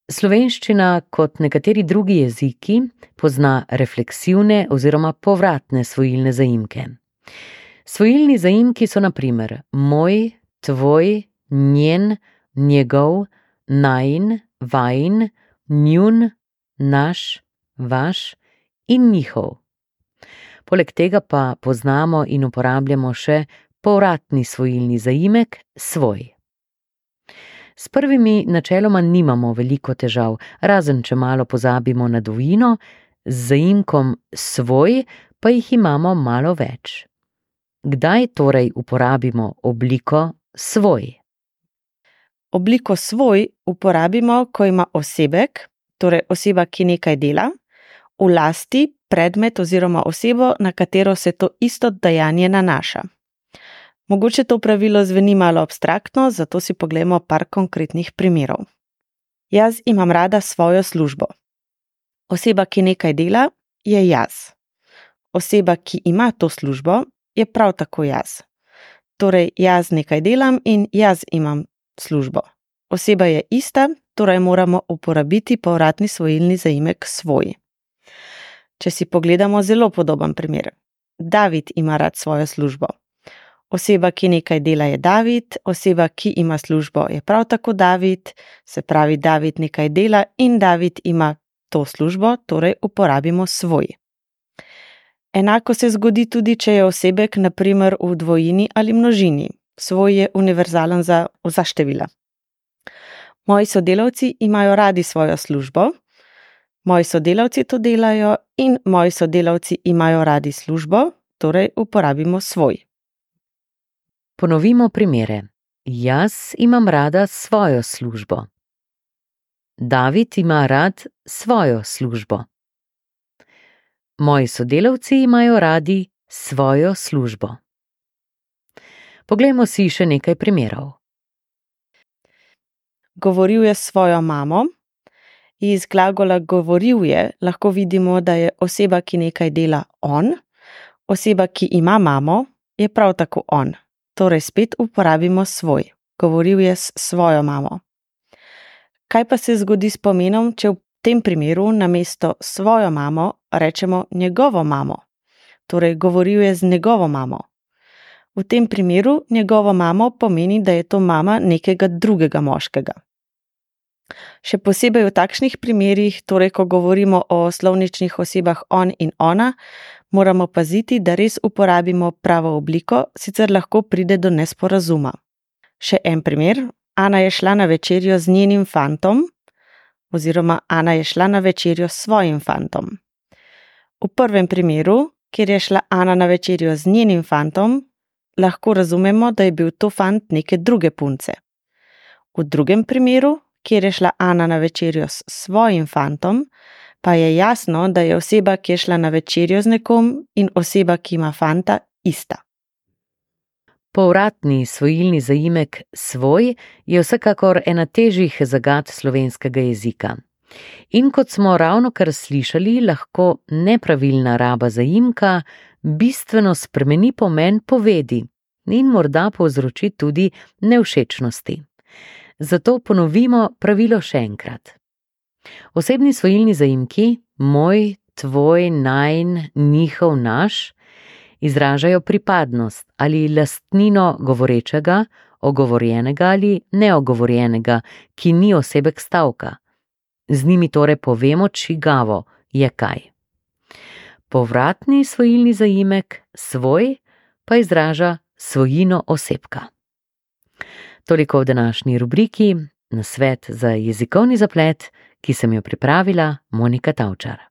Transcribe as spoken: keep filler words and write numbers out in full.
Slovenščina, kot nekateri drugi jeziki, pozna refleksivne oziroma povratne svojilne zaimke. Svojilni zaimki so na primer moj, tvoj, njen, njegov, najin, vajin, njun, naš, vaš in njihov. Poleg tega pa poznamo in uporabljamo še povratni svojilni zaimek svoj. S prvimi načeloma nimamo veliko težav, razen če malo pozabimo na dvojino, z zaimkom svoj pa jih imamo malo več. Kdaj torej uporabimo obliko svoj? Obliko svoj uporabimo, ko ima osebek, torej oseba, ki nekaj dela, v lasti predmet oziroma osebo, na katero se to isto dejanje nanaša. Mogoče to pravilo zveni malo abstraktno, zato si poglejmo par konkretnih primerov. Jaz imam rada svojo službo. Oseba, ki nekaj dela, je jaz. Oseba, ki ima to službo, je prav tako jaz. Torej, jaz nekaj delam in jaz imam službo. Oseba je ista, torej moramo uporabiti povratni svojilni zaimek svoj. Če si pogledamo zelo podoben primer. David ima rad svojo službo. Oseba, ki nekaj dela, je David, oseba, ki ima službo, je prav tako David, se pravi, David nekaj dela in David ima to službo, torej uporabimo svoj. Enako se zgodi tudi, če je osebek na primer v dvojini ali množini. Svoj je univerzalen za vsa števila. Moji sodelavci imajo radi svojo službo, moji sodelavci to delajo in moji sodelavci imajo radi službo, torej uporabimo svoj. Ponovimo primere. Jaz imam rada svojo službo. David ima rad svojo službo. Moji sodelavci imajo radi svojo službo. Poglejmo si še nekaj primerov. Govoril je s svojo mamo. Iz glagola govoril je lahko vidimo, da je oseba, ki nekaj dela, on. Oseba, ki ima mamo, je prav tako on. Torej spet uporabimo svoj. Govoril je s svojo mamo. Kaj pa se zgodi s pomenom, če v tem primeru namesto svojo mamo rečemo njegovo mamo? Torej govoril je z njegovo mamo. V tem primeru njegovo mamo pomeni, da je to mama nekega drugega moškega. Še posebej v takšnih primerih, torej ko govorimo o slovničnih osebah on in ona, moramo paziti, da res uporabimo pravo obliko, sicer lahko pride do nesporazuma. Še en primer. Ana je šla na večerjo z njenim fantom, oziroma Ana je šla na večerjo s svojim fantom. V prvem primeru, kjer je šla Ana na večerjo z njenim fantom, lahko razumemo, da je bil to fant neke druge punce. V drugem primeru, kjer je šla Ana na večerjo s svojim fantom, pa je jasno, da je oseba, ki je šla na večerjo z nekom in oseba, ki ima fanta, ista. Povratni svojilni zaimek svoj je vsekakor ena težjih zagad slovenskega jezika. In kot smo ravnokar slišali, lahko nepravilna raba zaimka bistveno spremeni pomen povedi in morda povzroči tudi nevšečnosti. Zato ponovimo pravilo še enkrat. Osebni svojilni zaimki moj, tvoj, najin, njihov, naš izražajo pripadnost ali lastnino govorečega, ogovorjenega ali neogovorjenega, ki ni osebek stavka. Z njimi torej povemo, čigavo je kaj. Povratni svojilni zaimek svoj pa izraža svojino osebka. Toliko v današnji rubriki Nasvet za jezikovni zaplet, ki sem jo pripravila Monika Tavčar.